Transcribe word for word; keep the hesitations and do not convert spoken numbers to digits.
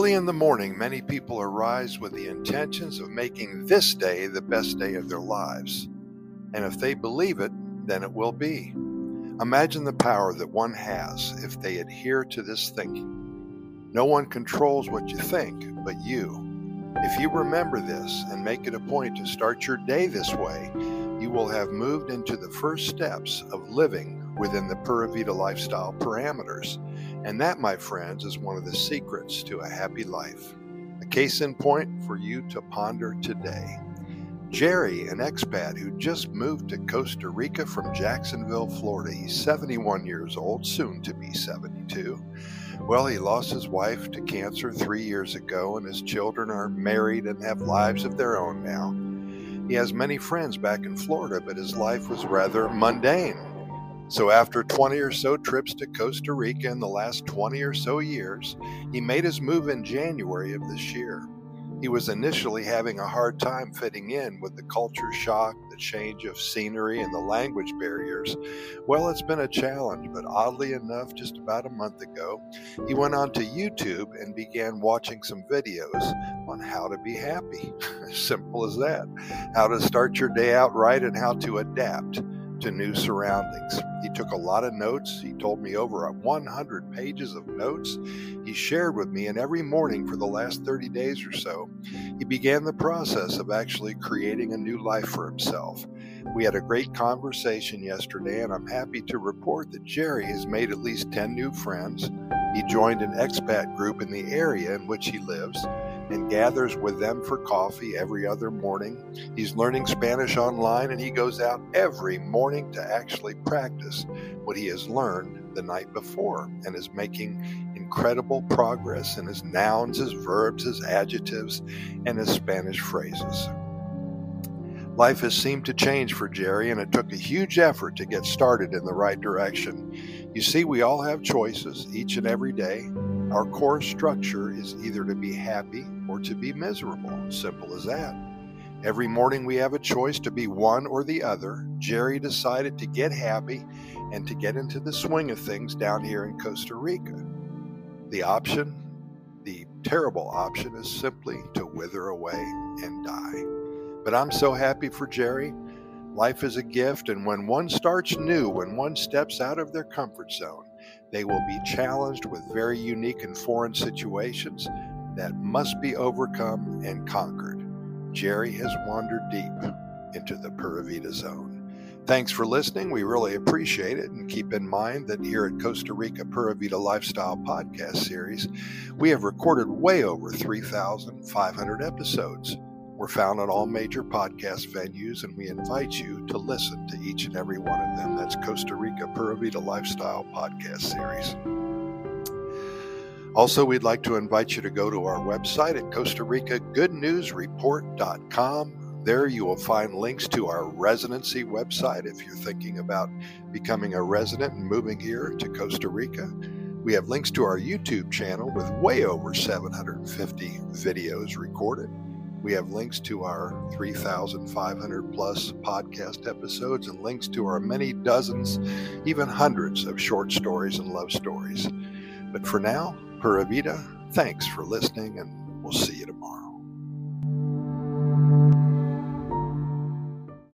Early in the morning, many people arise with the intentions of making this day the best day of their lives. And if they believe it, then it will be. Imagine the power that one has if they adhere to this thinking. No one controls what you think but you. If you remember this and make it a point to start your day this way, you will have moved into the first steps of living within the Pura Vida lifestyle parameters. And that, my friends, is one of the secrets to a happy life. A case in point for you to ponder today. Jerry, an expat who just moved to Costa Rica from Jacksonville, Florida. He's seventy-one years old, soon to be seventy-two. Well, he lost his wife to cancer three years ago, and his children are married and have lives of their own now. He has many friends back in Florida, but his life was rather mundane. So after twenty or so trips to Costa Rica in the last twenty or so years, he made his move in January of this year. He was initially having a hard time fitting in with the culture shock, the change of scenery, and the language barriers. Well, it's been a challenge, but oddly enough, just about a month ago, he went onto YouTube and began watching some videos on how to be happy. Simple as that. How to start your day out right and how to adapt to new surroundings. He took a lot of notes. He told me over one hundred pages of notes he shared with me, and every morning for the last thirty days or so, he began the process of actually creating a new life for himself. We had a great conversation yesterday, and I'm happy to report that Jerry has made at least ten new friends. He joined an expat group in the area in which he lives and gathers with them for coffee every other morning. He's learning Spanish online, and he goes out every morning to actually practice what he has learned the night before, and is making incredible progress in his nouns, his verbs, his adjectives, and his Spanish phrases. Life has seemed to change for Jerry, and it took a huge effort to get started in the right direction. You see, we all have choices each and every day. Our core structure is either to be happy or to be miserable. Simple as that. Every morning we have a choice to be one or the other. Jerry decided to get happy and to get into the swing of things down here in Costa Rica. The option, the terrible option, is simply to wither away and die. But I'm so happy for Jerry. Life is a gift, and when one starts new, when one steps out of their comfort zone, they will be challenged with very unique and foreign situations that must be overcome and conquered. Jerry has wandered deep into the Pura Vida zone. Thanks for listening. We really appreciate it. And keep in mind that here at Costa Rica Pura Vida Lifestyle Podcast Series, we have recorded way over three thousand five hundred episodes. We're found on all major podcast venues, and we invite you to listen to each and every one of them. That's Costa Rica Pura Vida Lifestyle Podcast Series. Also, we'd like to invite you to go to our website at Costa Rica Good News Report dot com. There you will find links to our residency website if you're thinking about becoming a resident and moving here to Costa Rica. We have links to our YouTube channel with way over seven hundred fifty videos recorded. We have links to our three thousand five hundred plus podcast episodes and links to our many dozens, even hundreds of short stories and love stories. But for now, Pura Vida, thanks for listening, and we'll see you tomorrow.